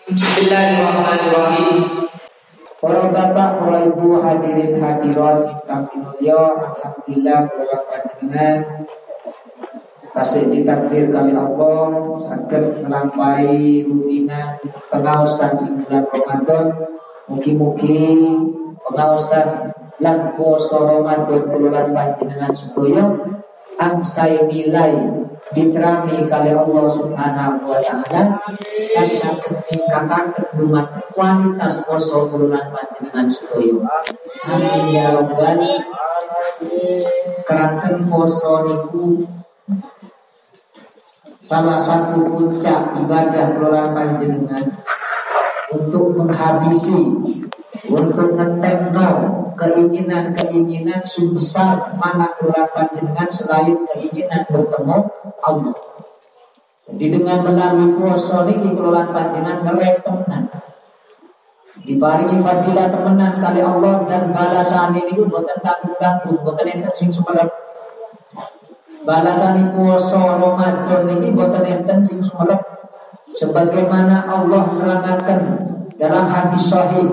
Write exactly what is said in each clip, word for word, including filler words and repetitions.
Bismillahirrahmanirrahim. Para bapak, para ibu, hadirin hadirat ingkang mulya, alhamdulillah kula panjenengan tasih ditakdir kali Allah saged melampaui rutinan pengaosan ing bulan Ramadan. Mugi-mugi pengaosan lan puasa Ramadan kula panjenengan sedaya angsai nilai diterami kali Allah Subhanahu wa taala dan saged ningkataken dumateng kualitas poso kula panjenengan sedaya. Amin ya rabbal alamin. Keranten poso niku salah satu puncak ibadah kula panjenengan untuk menghabisi, untuk ngetemno keinginan-keinginan sebesar mana kula panjenengan selain keinginan bertemu Allah. Jadi dengan melalui puasa niki kula panjenengan meretenan diparingi fadilah temenan kali Allah dan balasan ini boten tanggung-tanggung, boten enten sing sumerep. Balasan puasa Ramadan niki boten enten sing sumerep. Sebagaimana Allah menerangkan dalam hadis sahih,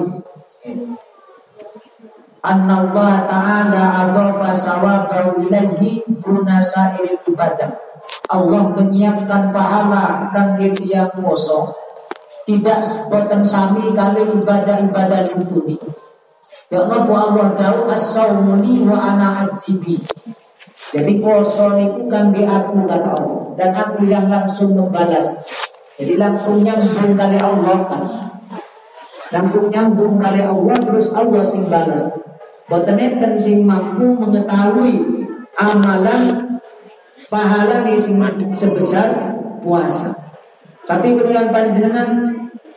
Anna Allah Ta'ala adhafa sawabahu ilaihi duna sa'iril ibadah. Allah menyiapkan pahala kangge tiyang puasa tidak boten sami kali ibadah-ibadah lintuni. Ya Allah, Allah dawuh as-saumu li wa ana azibi. Jadi puasa niku kangge aku kata Allah dan aku yang langsung membalas. Jadi langsung nyambung kali Allah kan. Langsung nyambung kali Allah terus Allah sing balas. Boten enten sing mampu mengetahui amalan pahala ni sing sebesar puasa. Tapi kemudian panjenengan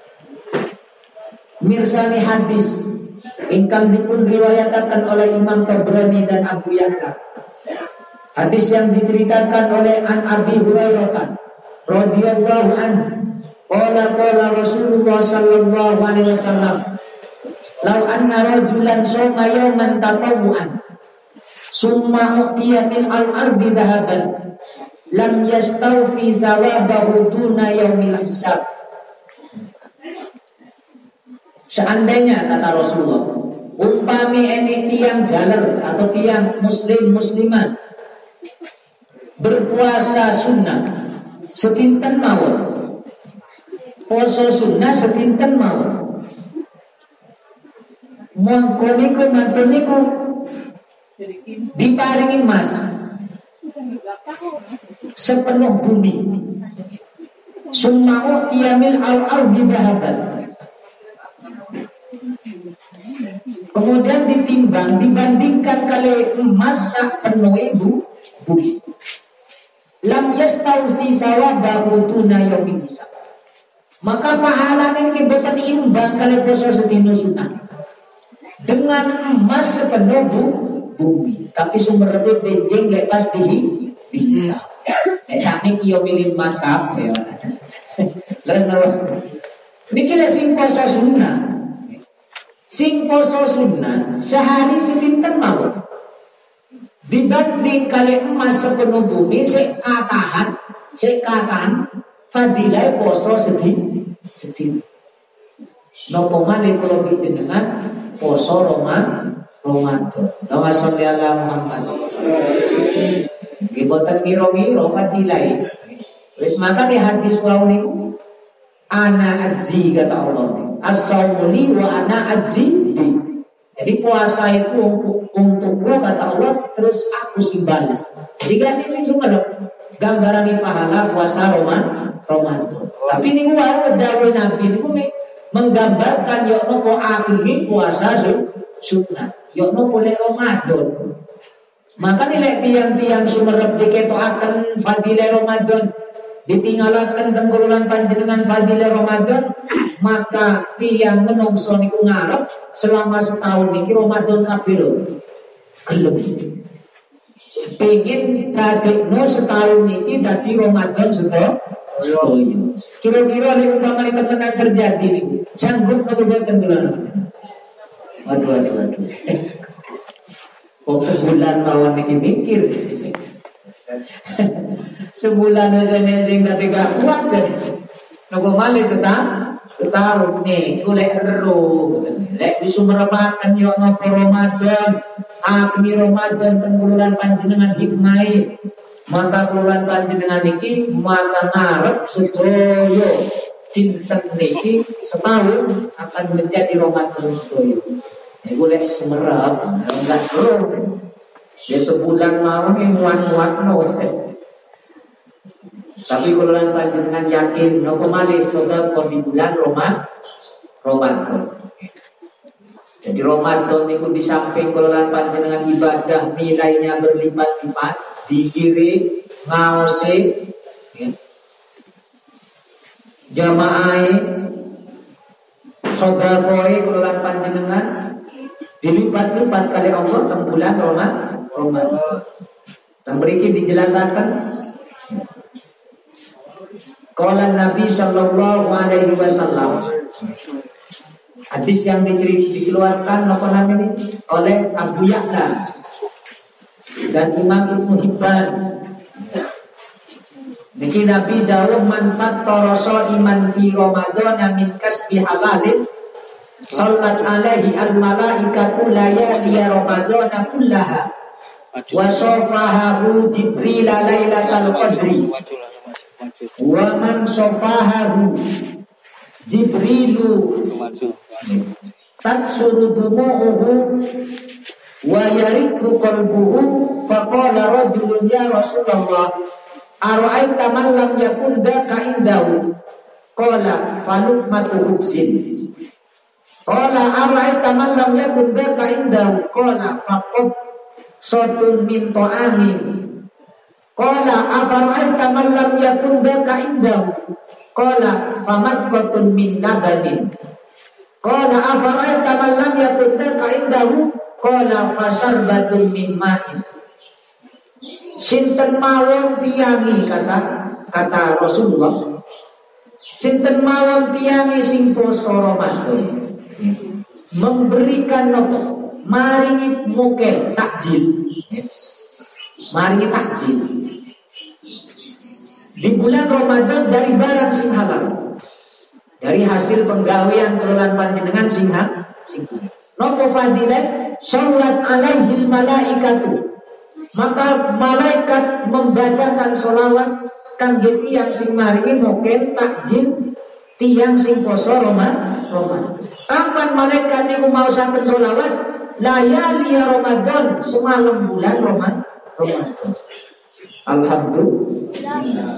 mirsani hadis ingkang dipun riwayataken oleh Imam Tabrani dan Abu Ya'la. Hadis yang diceritakan oleh An Abi Hurairah radhiyallahu anhu, qala qala Rasulullah sallallahu alaihi wasallam, "Lau anna rajulan shoma yawman tatawwu'an, summa u'tiya min al-ardi dhahaban, lam yastawfi zawabahu duna yaumil hisab." Seandainya kata Rasulullah, umpami ene tiang jaler atau tiang muslim muslimat berpuasa sunnah sekinten mawon, poso sunnah sekinten mawon, mongko niku mantun niku diparingi emas sepenuh bumi, summa yamil al-ardi dhahaban, kemudian ditimbang dibandingkan kali emas sepenuh ibu bumi, lam yastausi sawabahu tuna yaumil hisab, maka pahala ini boten imbang kali poso sedina sunah dengan emas sepenuh bumi. Tapi sumber lebih benjing lepas di dihisab. Nek sakniki yo milih emas kabeh. Leno niki lek sing poso sunah. Sing poso sunah sehari sekinten mawon. Dibanding kali emas sepenuh bumi sik katahan, sik katahan fadilah poso sedih sedih. Napa malih kula panjenengan poso Ramadan. Ramadan. Allahumma sholli ala Muhammad. Nggih boten ngira-ngira fadilah. Wis maka di hadis wau niku ana ajzi kata Allah. As-saumu li wa ana ajzi bi. Jadi puasa itu untuk untukku kata Allah, terus aku sing balas. Jadi kan ini cuma gambaran pahala puasa Ramadan. Ramadan. Tapi ini wae dawuh Nabi niku menggambarkan yo nopo akhiri puasa sunat. Yo nopo lek Ramadan. Maka nilai tiang-tiang sumerep diketoaken fadilah Ramadan, ditinggalaken tengkurulan panjenengan fadilah Ramadan, maka tiang menungso niku ngarep selama setahun niki Ramadan kabeh lho. Gelem. Pengen dadekno setahun niki dadi Ramadan sedaya. Kira-kira nek umpamane tenan terjadi niku, sanggup napa boten kula? Waduh waduh waduh. Kok sebulan mawon niki mikir. Sebulan aja nek sing dadi gak kuat kan. Napa malih setahun? Setahun nih, golek ero. Lek di Sumeremaken yo nopo Ramadan, akhir Ramadan tenggulan panjenengan hikmai. Mata kelulan panjenengan niki mata ngarep sedoyo cinten niki setahun akan menjadi Ramadan sedoyo. Ya golek sumerep, enggak seru. Ya sebulan mau nih muat-muat no. Tapi kalau panjenengan yakin nopo malih sedekah di bulan Roma, Ramadan. Jadi Ramadan itu di samping kalau panjenengan ibadah nilainya berlipat-lipat, dikiri, ngawase, ya. Jamaah, sedekah kalau panjenengan dilipat-lipat kali Allah teng bulan Ramadan. Dan berikut dijelaskan. Qala Nabi sallallahu alaihi wasallam, hadis yang dikeluarkan apa namanya oleh Abu Ya'la dan Imam Ibnu Hibban. Niki Nabi dawuh man fattara shaiman fi Ramadan min kasbi halalin sallat alaihi al malaikatu layali Ramadan kullaha wa safahahu Jibril lailatal qadri wa man safahahu Jibrilu taksuru dumu'uhu wa yariku qalbuhu faqala rajulun ya Rasulullah ara'aita man lam yakun daka indahu qala falukmatu hubsin qala ara'aita man lam yakun daka indahu qala faqad sotun min ta'amin qala afara'aita man lam yakun daka indahu qala famadqatun min labanin qala afara'aita man lam yakun daka indahu qala fasarbatun min ma'in. Sinten mawon tiyangi kata kata Rasulullah, sinten mawon tiyangi sing poso Ramadan memberikan nopo maringi mokel takjil, maringi takjil di bulan Ramadan dari barang sing halal, dari hasil penggawean kelolaan panjenengan sing sing nopo fadilah sholat alaihil malaikatu, maka malaikat membacakan sholawat kangge tiyang sing maringi mokel takjil tiyang sing poso Ramadan. Kapan malaikat niku mau saken sholawat? Layali Ramadan, semalam bulan Ramadan. Alhamdulillah.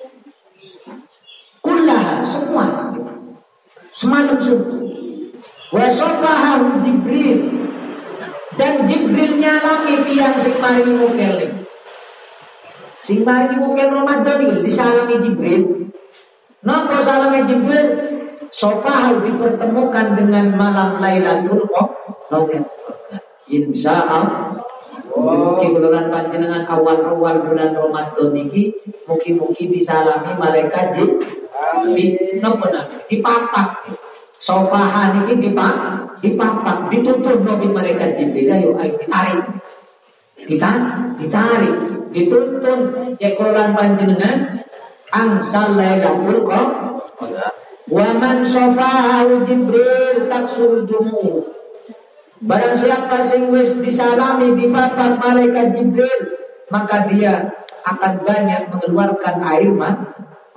Kullaha, semua. Semalam subuh. Wa safahahu Jibril, dan Jibril nyalami tiang sing maringi mokel nih. Sing maringi mokel Ramadan iki disalami Jibril. Napa salami Jibril? Safahahu dipertemukan dengan malam Lailatul Qadar. Insyaallah. Mugi bulan panjenengan awal-awal bulan Ramadan niki mugi-mugi disalami malaikat Jibril. Napa napa? Dipapak. Sofahan ini dipak, dipapak, ditutup nabi malaikat Jibril. Ayo, ayo ditarik, ditarik, ditarik, dituntun. Cekolan panjenengan, angsal Lailatul Qadar. Waman sofahu Jibril taksur dumu. Barang siapa sing wis disalami dipapak malaikat Jibril, maka dia akan banyak mengeluarkan air mata,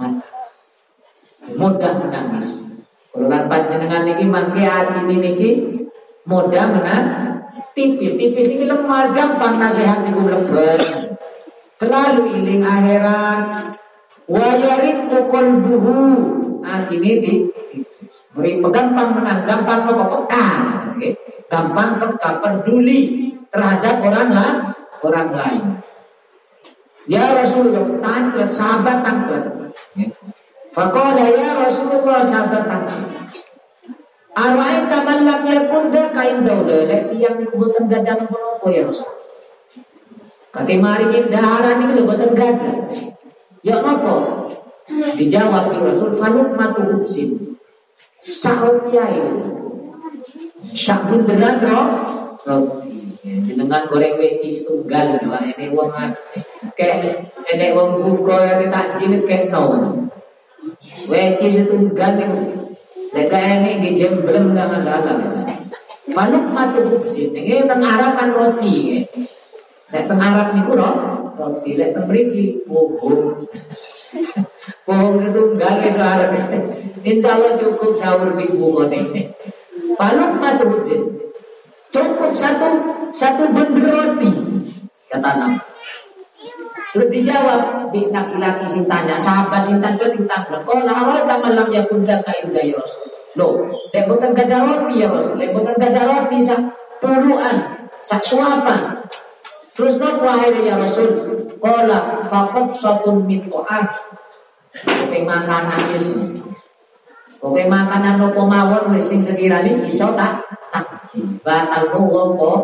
mudah menangis. Kelulan panjenengan niki mangke ati niki mudah menang tipis-tipis niki lemas gampang nasihat niku mlebet. Terlalu iling akhirat wa yariqu qalbuhu. Atine di beri gampang menang, gampang apa peka, okay? Gampang peka peduli terhadap orang lain, orang lain. Ya Rasulullah, tangklet sahabat tangklet. Faqala ya Rasulullah sahabat tangklet. Ara'aita man lam yakun daka indahu, lek tiyang niku boten gadah menapa ya Rasul. Kate maringi daharan niku lho boten gadah. Ya napa? Dijawab Rasul faluk matu hubsin. Sahut kiai sak bunderan roti. Jenengan goreng weci setunggal lho ene wong kek ene wong buka ene takjil kek no. Weci setunggal niku Lek ini di jemblem enggak masalah. Manuk matu kupsin ini teng Arab kan roti. Lek teng Arab niku roti, lek teng mriki pohon. Pohon setunggal itu Arab. Insyaallah cukup sahur minggu ngene. Manuk matu kupsin. Cukup satu satu bender roti kata Nabi. Terus dijawab, bi laki-laki sing tanya, sahabat sing tanya ditanya, "Qala awal malam yakun ka inda ya Rasul." Loh, lek boten kada roti ya Rasul, lek boten kada roti sak puluhan, sak suapan. Terus nopo akhirnya ya Rasul? Qala faqad satun min ta'am. Oke makanan wis. Oke makanan nopo mawon wis sing sekirane iso tak takjil. Batal wong po.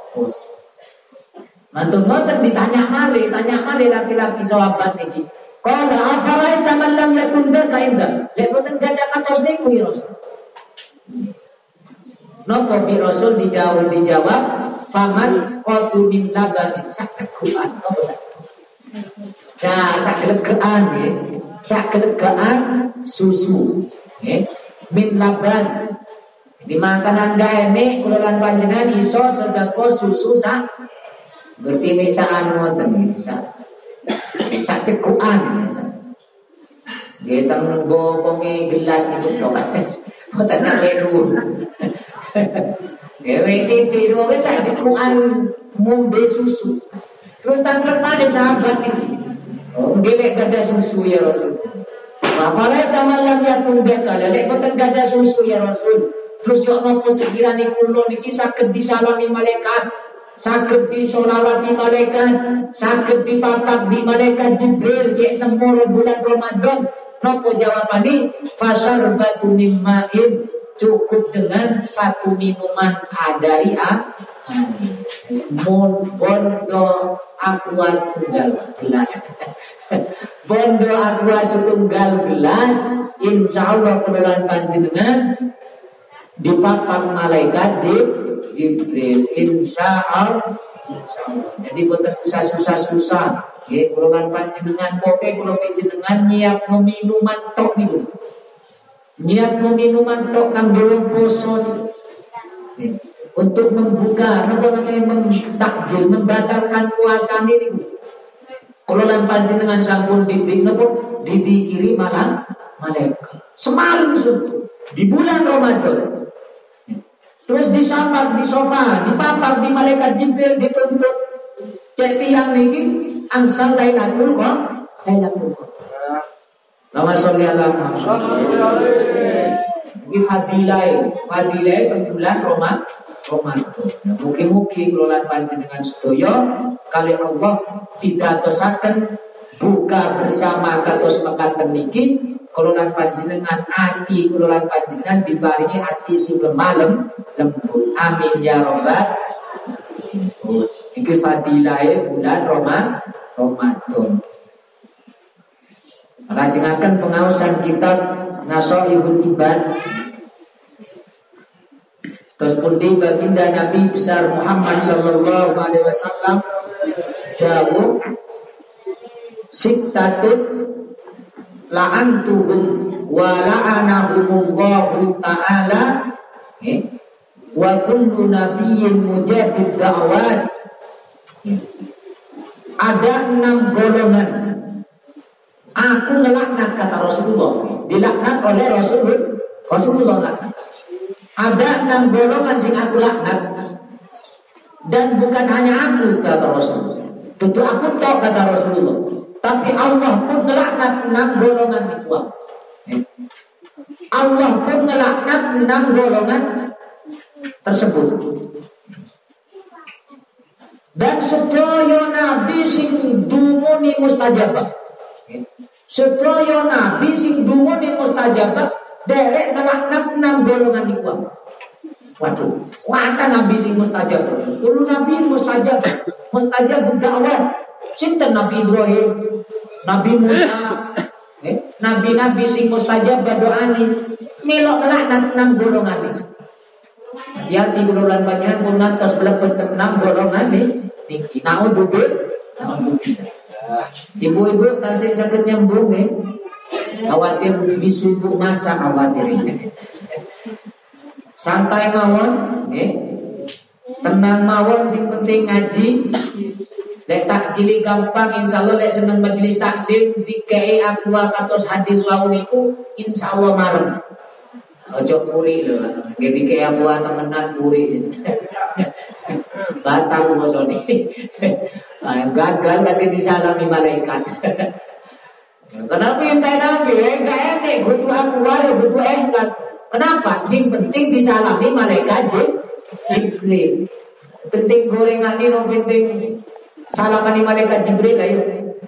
Mantun ngoten ditanya malih, tanya malih laki-laki sahabat niki. Qala afaraita man lam yakun dzaka inda. Lek boten gadah katos niku ya Rasul. Napa bi Rasul dijawab dijawab faman qatu min labanin sak cegukan napa sak. Sa sak gelegean nggih. Sak gelegean susu nggih. Min laban. Di makanan gaene kula lan panjenengan iso sedekah susu sak berarti misaan ngoten bisa sak cekukan nggih teng bokonge gelas niku tok boten sampe dhuwur nggih iki wis sak cekukan ngombe susu terus tanglet malih sahabat niki nggih lek gadah susu ya Rasul apalagi tamalam ya tunggak kala lek boten gadah susu ya Rasul terus yo napa sekirane kula niki saged disalami malaikat saged disolawati malaikat, saged dipapak di malaikat Jibril cek nemu bulan Ramadan. Nopo jawabane? Fasarbatu mimma'in, cukup dengan satu minuman dari a bondo aqua setunggal gelas. Bondo aqua setunggal gelas, insyaallah bulan panjenengan dipapak malaikat Jibril. Jibril insyaallah insyaallah. Jadi boten usah susah-susah. Nggih, kula lan panjenengan pokoke kula panjenengan nyiap minuman tok niku. Nyiap minuman tok kanggo wong poso. Untuk membuka napa namanya mentakjil, membatalkan puasa niku. Kula lan panjenengan sampun didik napa didikiri malam malaikat. Semalam suntuk di bulan Ramadan. Terus disafar di sofa, dipapak di malaikat Jibril dituntut. Cek tiang niki angsal Lailatul Qadar, Lailatul Qadar. Nama sholli ala Muhammad. Iki fadilah, fadilah bulan Ramadan. Ramadan. Mugi-mugi kula lan panjenengan sedaya kali Allah didatosaken buka bersama kados mekaten niki. Kula lan panjenengan ati kula lan panjenengan diparingi ati sing lemah lembut. Amin ya rabbal alamin. Iki fadilahe bulan Ramadan. Lajengaken pengaosan kitab Nasaihul Ibad. Terus pundi baginda Nabi besar Muhammad sallallahu alaihi wasallam jawab sittatun la'antuhum wa la'anahumullahu ta'ala eh? Wa kullu nabiyyin mujadid da'wat eh? Ada enam golongan aku ngelaknat kata Rasulullah eh? Dilaknat oleh Rasulullah Rasulullah laknat. Ada enam golongan sing aku laknat dan bukan hanya aku kata Rasulullah. Tentu aku tahu kata Rasulullah. Tapi Allah pun ngelaknat enam golongan itu. Allah pun ngelaknat enam golongan tersebut. Dan sedaya nabi sing dumuni mustajabah. Sedaya nabi sing dumuni mustajabah derek ngelaknat enam golongan itu. Waduh, wata nabi sing mustajabah. Dulu nabi mustajabah, mustajab dakwah. Sinten Nabi Ibrahim, Nabi Musa, eh, nabi-nabi sing mustajab doani, melok laknat enam golongan ini. Hati-hati golongan banyak pun ngantos belebet enam golongan ini. Niki, naudzubillah, naudzubillah. Ibu-ibu tansih sakit nyambung eh. Khawatir disubuh masa khawatir ini. santai mawon, nggih. Tenang mawon, sing penting ngaji. Lek takjili gampang, insyaallah lek seneng majelis taklim dikei aqua kados hadir wau niku insyaallah marem. Ojo puri lho, nggih dikei aqua temenan puri. Batal bosone. Gagal kate disalami malaikat. Kenapa entai nabi? Enggak enek butuh aqua ya butuh ikhlas. Kenapa? Sing penting disalami malaikat Jibril. Penting gorengan ini, no penting salaman malaikat Jibril ayo.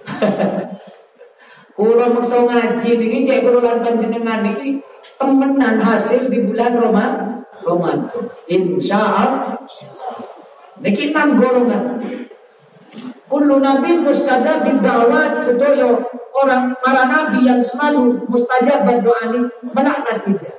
Kulo maksa ngaji niki cek kulo lan panjenengan niki temenan hasil di bulan Ramadan. Ramadan. Insyaallah. Niki enam golongan. Kullu nabi mustajab bid-da'wat, sedaya orang para nabi yang selalu mustajab berdoa ini melaknat kita.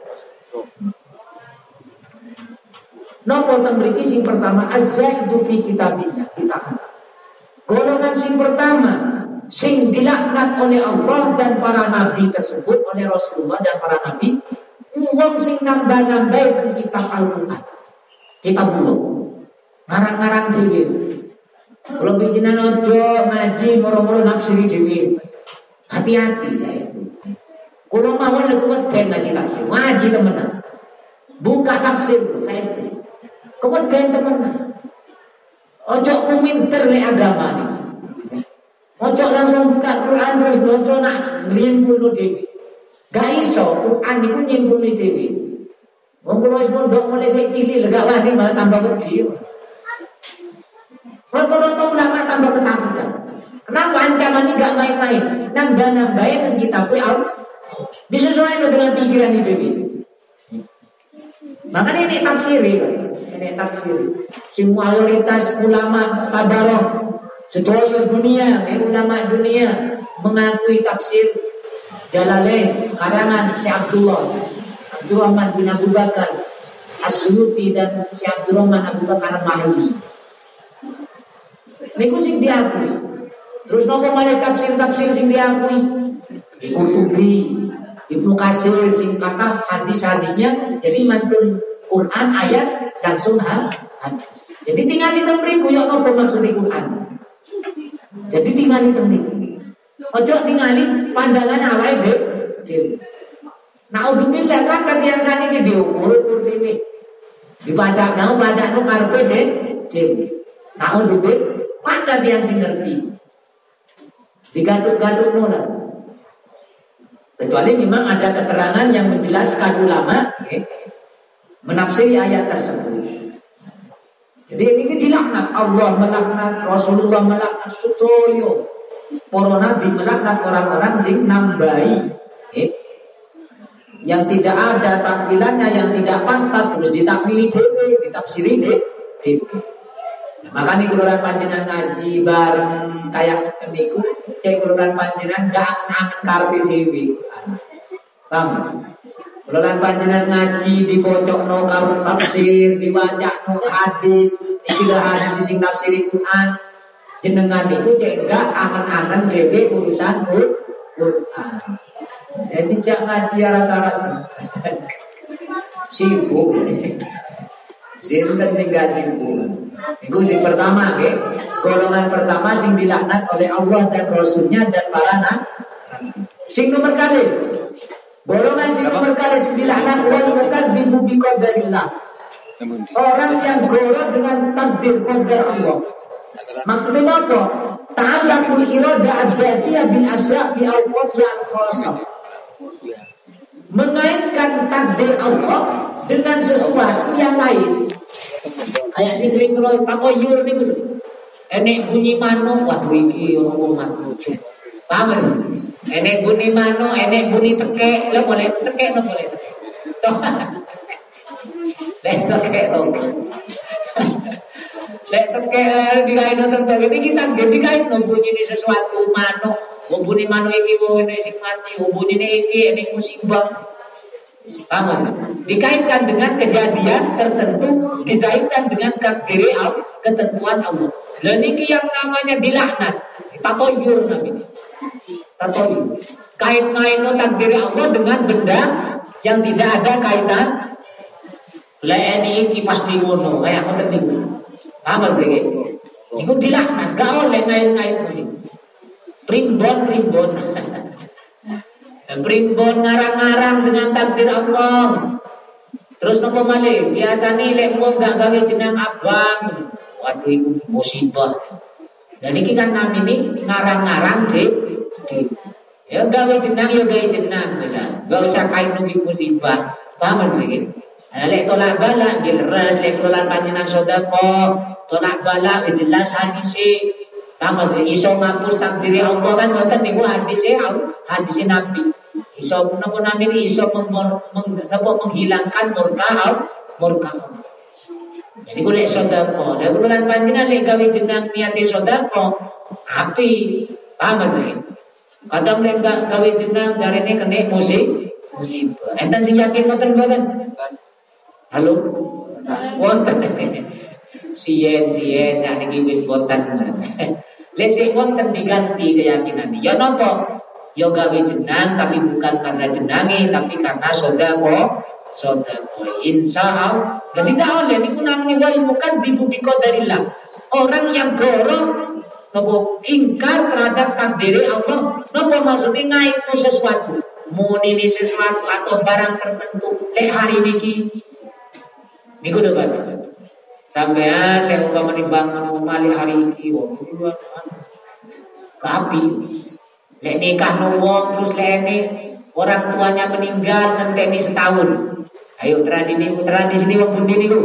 Napa teng mriki sing pertama az-zaidu fi kitabillah, kita. Golongan sing pertama sing dilaknat oleh Allah dan para nabi tersebut, oleh Rasulullah dan para nabi, wong sing nambah-nambah teng kitab Al-Qur'an. Kita bulung ngarang-ngarang dhewe. Kalau bijinan ojo ngaji moro-moro nafsiri dhewe. Hati-hati saya itu. Kalau mawon lek weden ngaji tafsir, ngaji temenan. Buka tafsir saya itu. Keweden temenan. Ojo kuminter lek agama nih. Ojo langsung buka Quran terus maca nak nyimpulno dhewe. Gak iso, Quran niku nyimpulno dhewe. Wong kula wis mondok mulai sik cilik lega wani malah tambah wedi. Rata-rata ulama tambah ketakutan. Kenapa ancaman ini gak main-main? Nambah-nambahin kita pun Allah. Disesuaikan dengan pikiran itu. Makanya ini tafsir, ini tafsir. Semua mayoritas ulama tabarok seluruh dunia, eh, ulama dunia mengakui tafsir Jalalain karangan Syekh Abdullah Abdurrahman bin Abu Bakar As-Suyuti dan Syekh Abdurrahman Abu Bakar Mahli. Niku sing diakui. Terus nopo malih tafsir-tafsir sing diakui? Qurtubi, Ibnu Katsir sing kata hadis-hadisnya jadi mantun Quran ayat langsung hadis. Jadi tinggal di temriku yo nopo maksud Quran. Jadi tinggal di temriku. Ojo tingali pandangan awake dhewe. Naudzubillah kan kalian saniki diukur dhewe. Di padakno padakno karepe dhewe. Naudzubillah pada yang sing ngerti. Digaduk-gaduk nona. Kecuali memang ada keterangan yang menjelaskan ulama ya, menafsiri ayat tersebut. Jadi ini dilaknat Allah melaknat, Rasulullah melaknat, sutoyo para nabi melaknat orang-orang sing nambahi ya, yang tidak ada takwilannya, yang tidak pantas terus ditakwili dhewe, ditafsiri dhewe. Makanya kuluran panjenengan ngaji bareng kayak niku, cek kuluran panjenengan gak angen karepe dhewe. Paham? Kuluran panjenengan ngaji dipocokno karo tafsir, diwacakno hadis, iki lho hadis sing tafsir Quran. Jenengan niku cek gak angen-angen dhewe urusan Quran. Jadi cek ngaji rasa-rasa. Sibuk. Sinten sing gak sibuk. Itu sing pertama, okay? Golongan pertama sing dilaknat oleh Allah dan Rasulnya dan para nabi. Sing nomor kali, golongan sing nomor kali sing dilaknat wal mukadzibu bi qadarillah. Orang yang goro dengan takdir qadar Allah. Maksudnya apa? Ta'allaqul irada ad-dzatiyah bil asya' fi awqafi al-khassah. Mengaitkan takdir Allah dengan sesuatu yang lain. Kayak si kering kalau takoyur nih gitu. Enek bunyi mano, waduh iki orang matu. Paham kan? Enek bunyi mano, enek bunyi tekek, lo boleh tekek, lo boleh tekek. Lek tekek dong. Lek tekek dikain nonton tekek ini kita dikain nonton bunyi ini sesuatu mano. Wong bunyi mano iki wong enek sing mati, wong bunyi iki enek musibah. Paham? Dikaitkan dengan kejadian tertentu, dikaitkan dengan takdir Allah, ketentuan Allah. Dan ini yang namanya dilaknat, tatoyur namanya. Tatoyur. Kait-kait takdir Allah dengan benda yang tidak ada kaitan Lek ini iki pasti ngono, kayak ngoten niku. Paham nggih? Iku dilaknat, gak oleh ngait-ngait kuwi. Primbon-primbon. Primbon ngarang-ngarang dengan takdir Allah. Terus nopo malih, biasane lek wong gak gawe jeneng abang. Waduh iku musibah. Dan iki kan namine ngarang-ngarang de, de. Ya gawe jeneng ya gawe jeneng bisa. Gak usah kain nunggu musibah. Paham nggih? Lek tolak bala gilres, lek kelolaan panjenengan sedekah, tolak bala jelas hadise. Paham nggih? Iso ngapus takdir Allah kan ngoten niku hadise, hadise Nabi. Iso napa namine iso menghilangkan murka murka. Jadi kula sedekah, lek kelolaan panjenengan lek gawe jeneng niate sedekah, api. Paham nggih? Kadang lek gak gawe jeneng jarene kena musibah. Musibah. Enten sing yakin ngoten mboten? Halo? Wonten. Sien-sien nek niki wis boten. Lek sing wonten diganti keyakinan. Ya napa? Ya gawe jenang tapi bukan karena jenangi tapi karena sedekah. Sedekah. Insyaallah. Jadi tidak oleh niku namanya wal mukadzib bi qadarillah. Orang yang goro napa ingkar terhadap takdir Allah, napa maksudnya ngaitno sesuatu. Muni sesuatu atau barang tertentu lek hari niki niku depan sampean lek umpama bangun malih hari iki wong iku kapi lek nikah wong terus lek orang tuanya meninggal ngenteni setahun. Ayo tradisi tradisi ini wong pundi niku.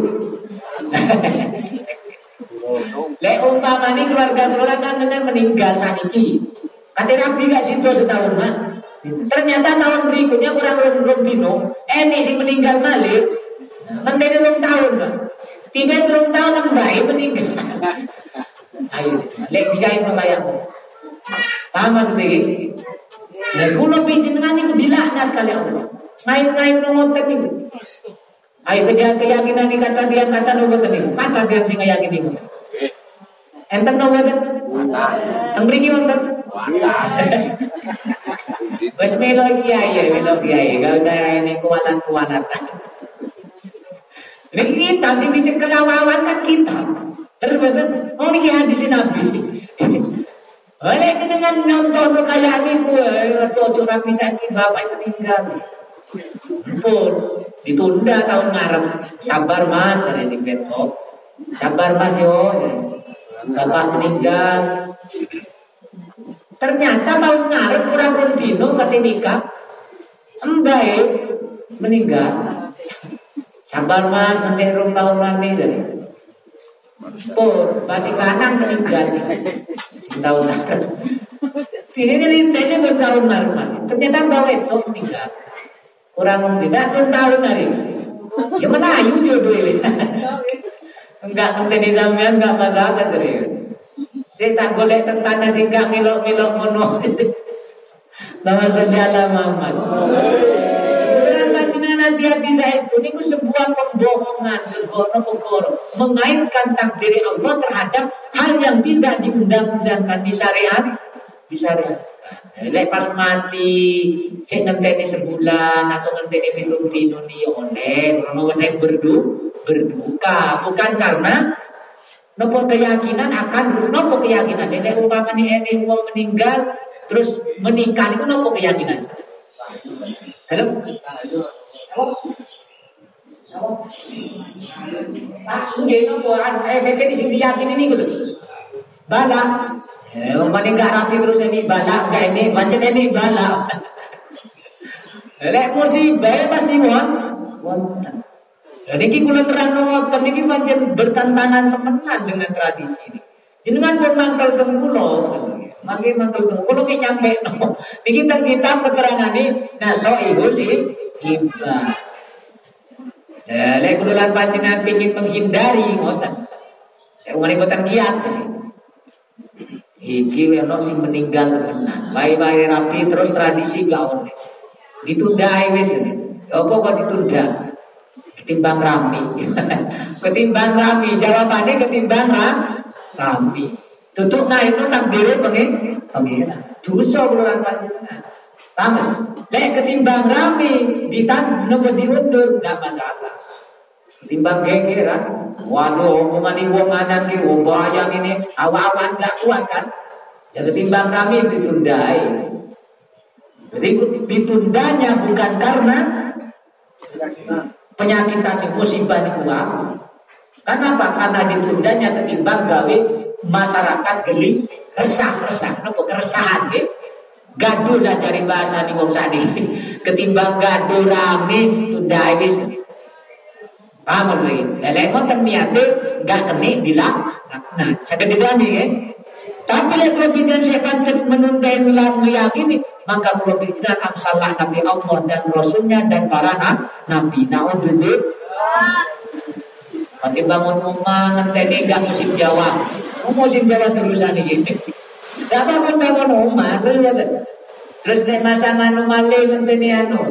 Lek umpama ni keluarga keluarga kan dengan meninggal saniki kate rabi gak sido setahun mah. Ternyata tahun berikutnya kurang rong dino, ini sing meninggal malih, ngenteni rong tahun, Pak. Tiba rong tahun nang bae meninggal. Ayo, lek digawe kaya apa? Paham maksud iki? Lek kula pinjenengan niku dilaknat kali Allah. Main-main ngoten niku. Ayo keyakinan iki kata dia kata ngoten niku. Kata dia sing ngayakini ngoten. Enten ngoten? Teng mriki wonten? Wes melo kiai ya, melo kiai, gak usah ini kualat-kualatan. Ini kita sing dicekel awan kan kita. Terus betul, oh ini hadis Nabi. Oleh dengan nonton kayak niku, ojo rapi sakit bapak meninggal. Pun ditunda tahun ngarep. Sabar Mas, ada sing beto. Sabar Mas yo. Bapak meninggal. Ternyata tahun ngarep kurang rong dino kate nikah. Embae meninggal. Sabar Mas, nanti rong tahun nanti jadi. Pur, masih lanang meninggal. Sing tahun ngarep. Ini lintene bertahun ngarep. Ternyata bawa itu meninggal. Kurang rong dino, rong tahun hari. Ya menayu jodoh. Enggak ngenteni sampean enggak masalah serius. Saya tak golek teng tanah sing gak ngelok-ngelok ngono. Nama sedala Muhammad. Bukan panjenengan dia bisa itu niku sebuah pembohongan segoro-goro mengaitkan takdir Allah terhadap hal yang tidak diundang-undangkan di syariat, di syariat. Lek pas mati sing ngenteni sebulan atau ngenteni pitung dino ni oleh ono saya berdu berduka bukan karena nopo keyakinan akan nopo keyakinan nek umpama ni ene wong meninggal terus menikah niku nopo keyakinan. Halo. Tak nggih nopo eh iki sing diyakini niku lho. Bala. Eh umpama gak rapi terus ini bala gak ini pancen ini bala. Lek musibah pasti won wonten. Jadi kita kula terang ngoten niki pancen bertentangan temenan dengan tradisi ini. Jenengan pun mangkel teng kula, mangke mangkel teng kula ki nyampe no. Niki teng kitab keterangane Nasaihul Ibad. Ya, lek kula lan panjenengan pengin menghindari ngoten. Saya umane boten kiat. Iki ono sing meninggal tenan. Wae-wae rapi terus tradisi gak oleh. Ditunda ae wis. Apa kok ditunda? Ketimbang rami, ketimbang rami, jawabannya ketimbang rami. Tutup nah itu takdirnya pengen, pengira. Dosa keluar panjenengan. Paham? Lek ketimbang rami, ditan nopo diundur, tidak masalah. Timbang gegeran. Waduh, omongan ibu nganan ki wong bayang ini awak-awan gak kuat kan? Ya ketimbang kami ditundai. Jadi ditundanya bukan karena penyakit tadi musibah di kuat. Kenapa? Karena ditundanya ketimbang gawe masyarakat geli resah-resah, nopo keresahan nggih. Gaduh lah cari bahasa nih wong sakniki. Ketimbang gaduh rame tunda wis. Paham maksudnya? Lelek ngoten niate enggak kene dilaknat. Saged didami nggih. Tapi lek kula pikiran saya pancet menunda lan meyakini, maka kula pikiran salah Nabi Allah dan Rasulnya dan para nabi. Naudzubillah. Tapi bangun rumah ngenteni enggak musim Jawa. Musim Jawa terusan iki. Enggak apa-apa bangun rumah terus ngoten. Terus nek masa anu malih ngenteni anu.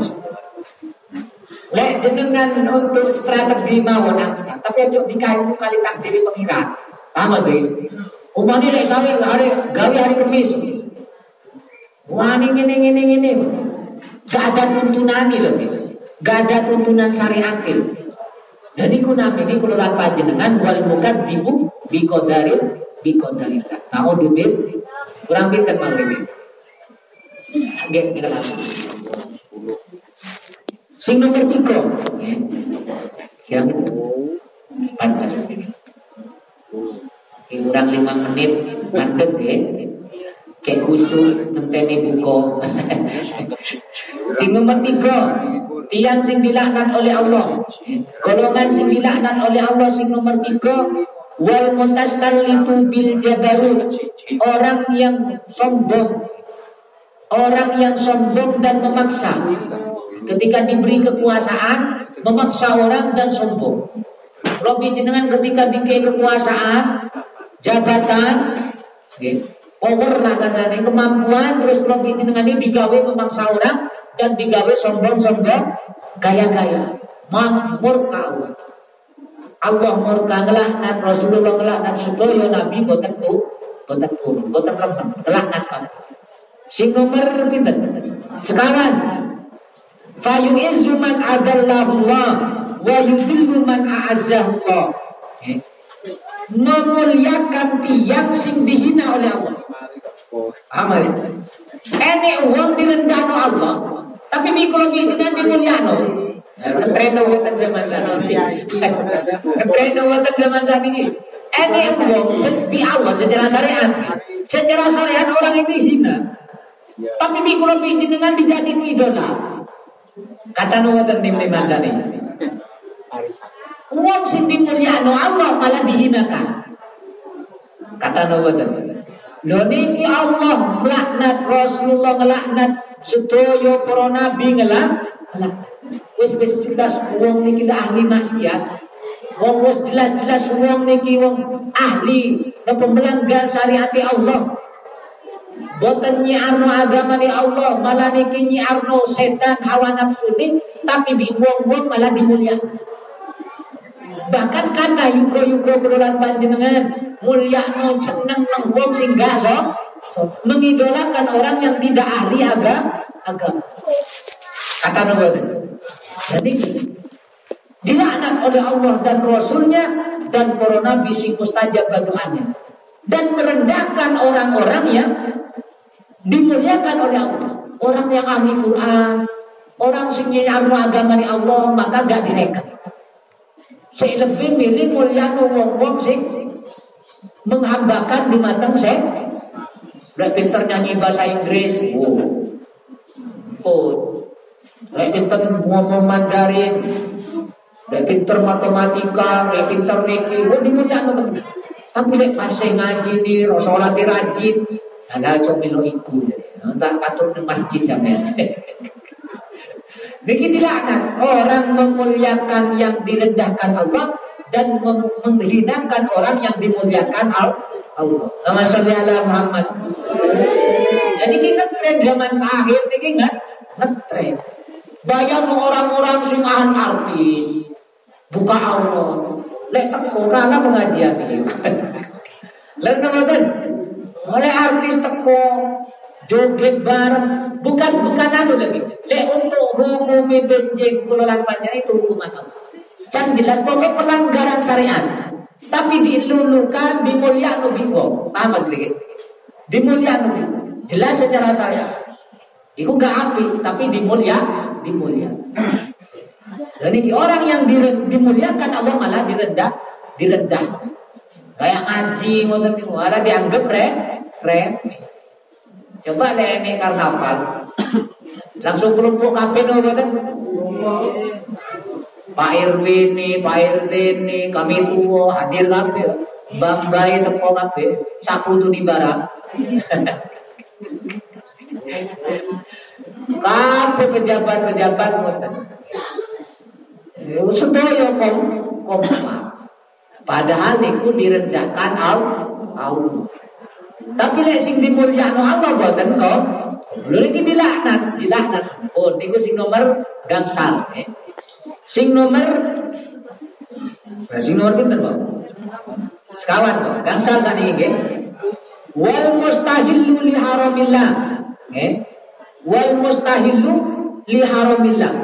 Lek jenengan untuk strategi mawon aksa, tapi ojo dikayu kali takdiri pengiran. Paham nggih? Umane lek sampe hari gawe hari Kamis. Wani ngene ngene ngene. Gak ada tuntunan lho. Gak ada tuntunan syariat. Jadi kuna ini kula lan panjenengan wal mukadzibu bi qadaril bi qadarillah. Naudzubillah. Kurang pinter mangke. Nggih, kita langsung. Sing nomor tiga, kira itu pantas ini. Kurang lima menit mandek ya, kayak khusus tentang buko. Sing nomor tiga, tiang sing dilaknat oleh Allah, golongan sing dilaknat oleh Allah. Sing nomor tiga, wal mutasallitu bil jabarut, orang yang sombong, orang yang sombong dan memaksa. Ketika diberi kekuasaan, memaksa orang dan sombong. Lebih jenengan ketika diberi kekuasaan, jabatan, okay, power lah katanya, kemampuan, terus lebih jenengan ini digawe memaksa orang dan digawe sombong-sombong, gaya-gaya, murka Allah. Allah murka ngelaknat, Rasulullah ngelaknat, sedaya Nabi boten tu, boten turun, boten remen, ngelaknat kamu. Sing nomor pinten? Sekarang fayu'izzu man adallahullah wa yudillu man a'azzahullah. Okay. Memuliakan tiang sing dihina oleh Allah. Amal. Enek uang direndahno Allah, tapi mikro bijinan dimulyano. Ketreno wonten zaman sakniki. Ketreno wonten zaman sakniki. Enek uang di Allah secara syariat. Secara syariat orang itu hina. Tapi mikro bijinan dijadikan idola. Kata nuwatan tim lima tadi. Uang sing dimulyakno Allah malah dihinakan. Kata nuwatan. Lho niki Allah melaknat, Rasulullah ngelaknat, sedaya para nabi ngelaknat. Wis wis jelas wong niki ahli maksiat. Wong wis jelas-jelas wong niki wong ahli napa melanggar syariat Allah. Boten nyiarno agama ni Allah, malah niki nyiarno setan hawa nafsu ni, tapi di wong-wong malah dimuliakan. Bahkan kata yuko-yuko kelulan panjenengan mulyakno seneng nang wong sing gak so, so mengidolakan orang yang tidak ahli agama. agama. Kata Nabi. Jadi dilaknat oleh Allah dan Rasulnya dan para nabi sing mustajab doanya, dan merendahkan orang-orang yang dimuliakan oleh Allah. Orang yang ahli Quran, orang sing nyarno agama ni Allah, maka gak direka. Saya lebih milih mulia wong-wong sing menghambakan di matang saya. Udah pinter nyanyi bahasa Inggris, oh, oh, udah pinter ngomong Mandarin, udah pinter matematika, udah pinter niki, oh dimuliakan teman. Tapi lek pas ngaji ni, sholat rajin. Ada comelo iku, tak katur di masjid sampean. Niki dilaknat, orang memuliakan yang direndahkan Allah dan menghinakan orang yang dimuliakan Allah. Nama sholli ala Muhammad. Jadi kita tren zaman akhir niki enggak ngetren. Bayang orang-orang sing artis buka Allah. Lek teko kana pengajian iki. Lek ngoten. Oleh artis teko joget bareng, bukan bukan anu lagi. Lek untuk hukum benjing kula lan panjang itu hukuman Allah. Yang jelas pokoknya pelanggaran syariat. Tapi dilulukan, dimuliakan lebih wong. Paham sedikit? Dimuliakan lebih. Jelas secara syariat. Itu gak api, tapi dimulia, dimulia. Dan ini orang yang dimuliakan Allah malah direndah, direndah. Kayak ngaji, ngoten niku, ada dianggap keren, keren. Coba deh ini karnaval, langsung kelompok kabeh ngoten. Pak R W ini, Pak R T ini, kami tua hadir kabeh. Bang Bayi teko kabeh, sakutu di barang. Kabeh pejabat-pejabat ngoten. Sedaya kom kompak. Padahal niku direndahkan Allah. Tapi lek sing dimulyakno Allah boten kok. Lho iki dilaknat, dilaknat. Oh niku sing nomor gangsal, eh. Sing nomor sing nomor pinten, Pak? Sekawan kok. Gangsal sakniki nggih. Wal mustahillu li haramillah. Nggih. Wal mustahillu li haramillah.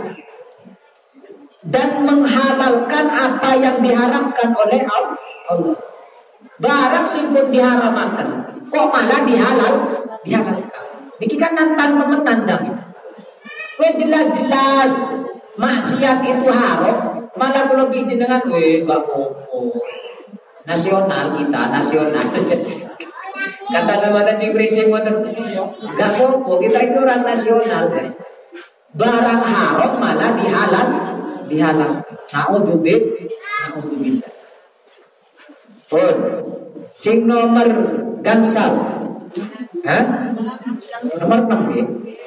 Dan menghalalkan apa yang diharamkan oleh Allah. Barang sing pun diharamkan, kok malah dihalal, dihalalkan. Niki kan nantang menandang. Kowe jelas-jelas maksiat itu haram, malah kalau jenengan we gak apa-apa. Nasional kita, nasional. Kata nama cing prinsip ngoten. Gak apa-apa, kita itu orang nasional kan. Barang haram malah dihalal, dihalalkan. Naudzubillah, naudzubillah. Pun sing nomor gangsal. Hah? Nomor enam ya.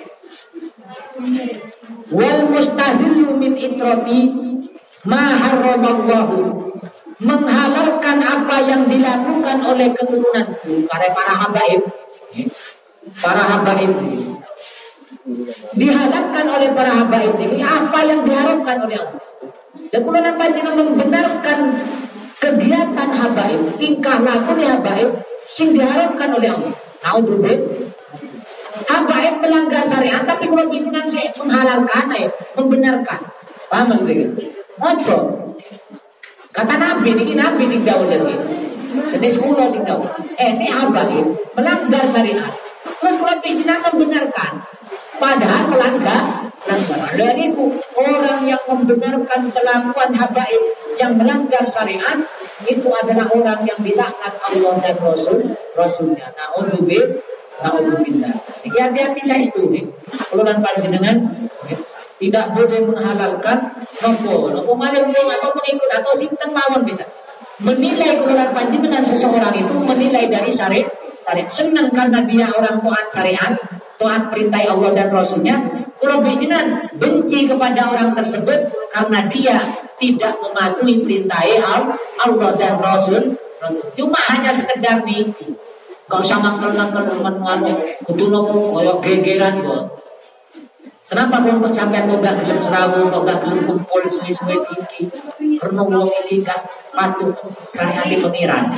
Wal mustahillu min itrati ma haramallahu. Menghalalkan apa yang dilakukan oleh keturunanku, para para habaib. Para habaib dihalalkan oleh para habaib ini apa yang diharamkan oleh Allah. Dan kalau namanya membenarkan kegiatan habaib, tingkah laku habaib sing diharamkan oleh Allah. Naudzubillah. Habaib melanggar syariat, tapi kalau pimpinan saya menghalalkan, ya, membenarkan. Paham begitu? Ojo. Kata Nabi, ini Nabi sing dawuh lagi. Sedes kula sing dawuh. Eh, ini habaib melanggar syariat. Terus kalau pimpinan membenarkan, padahal melanggar. Dan itu orang yang membenarkan kelakuan habaib yang melanggar syariat itu adalah orang yang dilaknat Allah dan Rasul Rasulnya. Naudzubillah, naudzubillah. Jadi hati-hati saya setuju. Kalau dan panjenengan tidak boleh menghalalkan nopo, nopo malah atau pengikut atau sinten mawon bisa menilai keluar panjenengan seseorang itu menilai dari syariat. Syariat senang karena dia orang taat syariat, taat perintah Allah dan Rasulnya. Kalau bijinan benci kepada orang tersebut karena dia tidak mematuhi perintah Allah dan Rasul. Rasul. Cuma hanya sekedar nih, kau sama kalau teman-teman kudu nopo koyok gegeran kok. Kenapa kalau sampai kau gak gelem serawu, kau gak gelem kumpul suwi-suwi iki? Karena wong iki gak patuh syariat pengiran.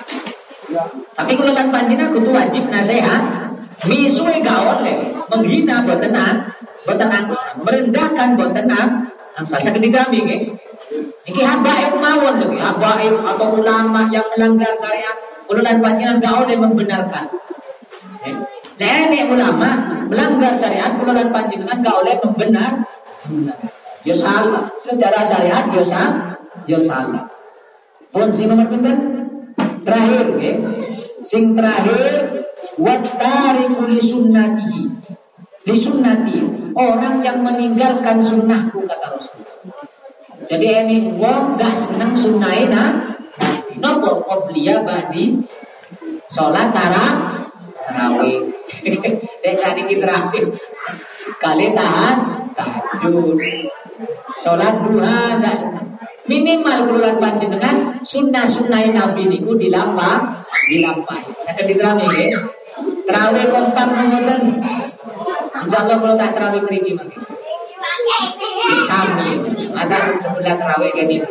Tapi kalau kan panjenengan kudu wajib nasihat, misuwe gak oleh menghina boten boten angsa, merendahkan boten angsa. Saged kami nggih. Iki habaib mawon lho, habaib atau ulama yang melanggar syariat, kulo lan panjenengan gak oleh membenarkan. Nek ulama melanggar syariat, kulo lan panjenengan gak oleh membenar. Yo salah, secara syariat yo salah, yo salah. Pun sing nomor pinten? Terakhir nggih. Sing terakhir wattariqu li sunnatihi. Li sunnati, orang yang meninggalkan sunnahku kata Rasul. Jadi ini wong gak seneng sunnahe nah. Napa qobliya ba'di salat tarawih. Dek sakniki terakhir. Kali tahan tahajud. Salat duha gak seneng. Minimal kulan panjenengan sunnah-sunnah Nabi niku dilampah, dilampahi. Saged diterami nggih. Tarawih kompak ngoten. Insyaallah kalau tak tarawih mriki mangke. Sami. Masa sebelah tarawih kayak gitu.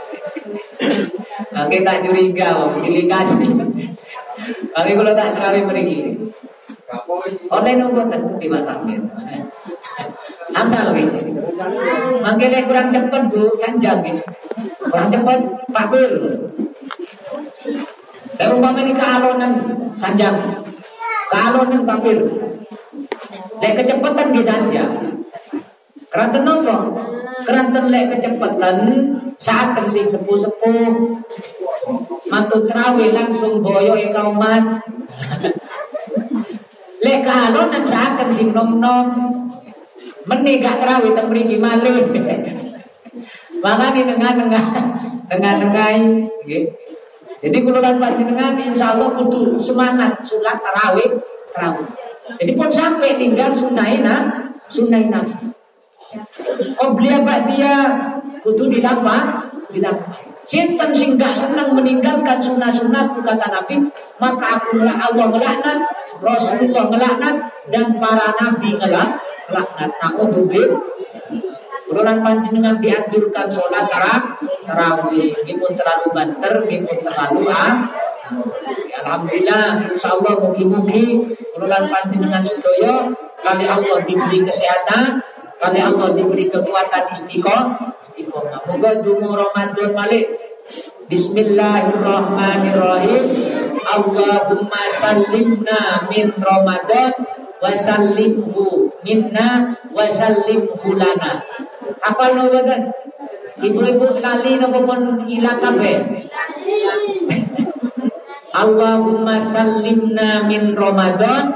Oke tak curiga, pilih kasih. Tapi kalau tak tarawih mriki. Online ngoten di Batam. Asal gitu. Mangkene kurang cepet Bu, sanjang gitu. Kurang cepet Pak Bir. Lek umpama ini kealonan sanjang. Kealonan Pak Bir. Lek kecepatan nggih sanjang. Keranten nopo? Keranten lek kecepatan saat sing sepuh-sepuh mantu trawe langsung boyo e kauman. Lek kealonan saat sing nom-nom meni gak trawe teng mriki malih. Makane tengah-tengah tengah-tengah nggih. Jadi kula lan panjenengan insyaallah kudu semangat salat tarawih tarawih. Jadi pun sampai tinggal sunaina sunaina. Obliya ba'diyah kudu dilapa dilapa. Sinten sing gak senang meninggalkan sunah-sunah kata Nabi, maka aku Allah melaknat, Rasulullah melaknat, dan para nabi melaknat. Na'udzubillah. Kulonan panjenengan dianjurkan sholat tarawih, gipun terlalu banter, gipun terlalu ah. Alhamdulillah, insyaallah mugi-mugi kulonan panjenengan sedaya kali Allah diberi kesehatan, kali Allah diberi kekuatan istiqomah. Istiqomah. Moga dungu Ramadan malik. Bismillahirrahmanirrahim. Allahumma sallimna min Ramadan wa sallimhu minna wa sallimhu lana. Hafal no boten? Ibu-ibu lali napa pun ilang kabeh? Allahumma sallimna min Ramadan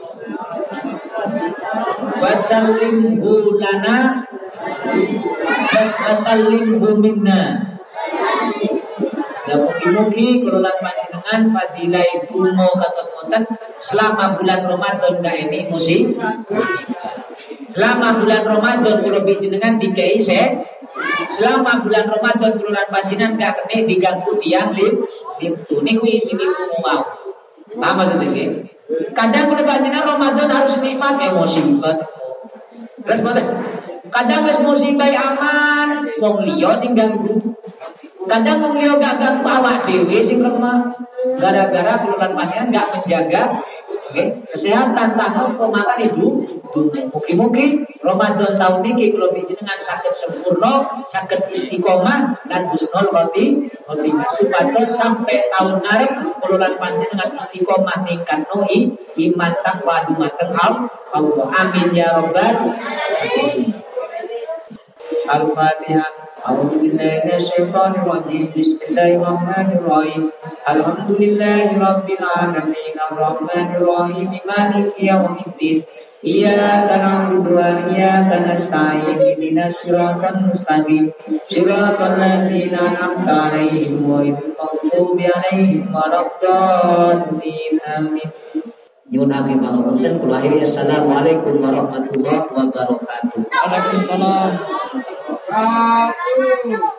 wa sallimhu lana wa sallimhu minna. Dan mugi-mugi kula panjenengan fadilah donga kados wonten selama bulan Ramadan ndak ini musibah. Selama bulan Ramadan kula panjenengan dikai se selama bulan Ramadan kula panjenengan gak kene diganggu tiang lim itu niku isi niku mau. Paham maksudnya nggih? Kadang kula panjenengan Ramadan harus nikmat emosi banget. Terus boten. Kadang wis musibah aman, wong liya sing ganggu. Kadang wong liya gak ganggu awak dhewe sing lemah. Gara-gara kula panjenengan gak menjaga okay. Kesehatan tahu pemakan itu mugi-mugi Ramadan tahun ini kalau panjenengan sakit sempurna, sakit istiqomah dan husnul khotimah supados sampai tahun ngarep kula panjenengan istiqomah ningkat noi iman takwa dumateng Allah. Amin ya rabbal alamin. Al-Fatihah. A'udzu billahi minasyaitonir rajim. Bismillahirrahmanirrahim. Alhamdulillahi rabbil alamin. Arrahmanir rahim. Maliki yaumiddin. Iyyaka na'budu wa iyyaka nasta'in. Ihdinas siratal mustaqim. Siratal ladzina an'amta 'alaihim ghairil maghdubi 'alaihim waladdallin. Amin. Nyuwun afi pangapunten kula akhiri assalamualaikum warahmatullahi wabarakatuh. Waalaikumsalam.